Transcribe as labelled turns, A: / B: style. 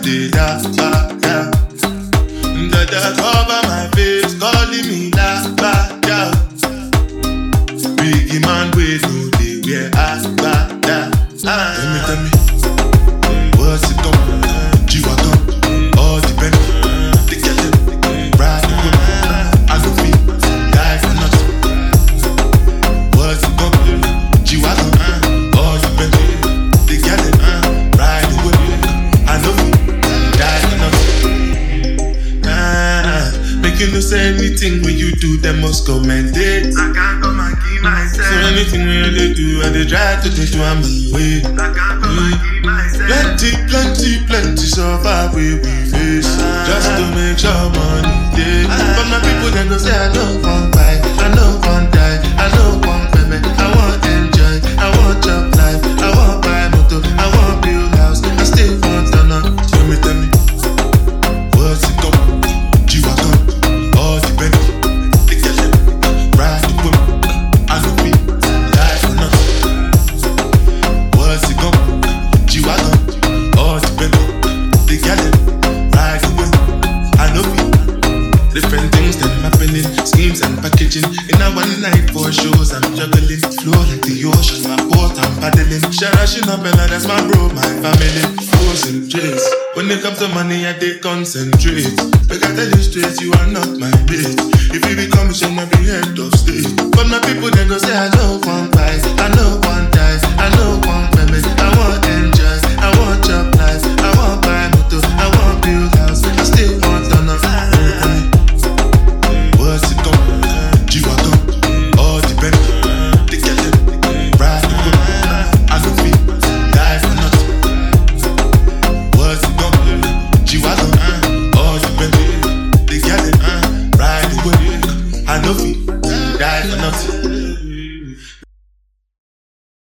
A: day da ba ya. Dada cover my face, calling me la ba ya. Biggie man we no dey wear agbada. Tell me, what's it come? G-Wagon, all the Benz, they get them, ride the whip. I don't feel, die for nothing. What's it come? G-Wagon, all the Benz, they get them, ride the whip. I don't feel, die for nothing. Make you no say anything when you do, them must commend it.
B: I can't come and keep myself.
A: So anything when they do, I they try to do my way.
B: I can't come and keep myself.
A: Plenty survive we face just to make sure money day. But my people then go say I don't want buy, I don't want die, I don't want baby, I want enjoy, I want job life, I want buy motor, I want build house, I still want to know. Tell me, what's it come? G-Wagon, all the Benz, they get them, ride the whip, I don't be die for nothing. What's it come? G-Wagon. All the Benz, they got it, ride the whip. I know it. Different things that happening, schemes and packaging. In a one night for shows, I'm juggling. Flow like the ocean, my boat, I'm paddling. Sharashing up and that's my bro, my family. Frozen trace. When it comes to money, I they concentrate. But I tell you straight, you are not my bitch. If you become a son, I'll be head of state. But my people then go say, I don't want buy, I don't want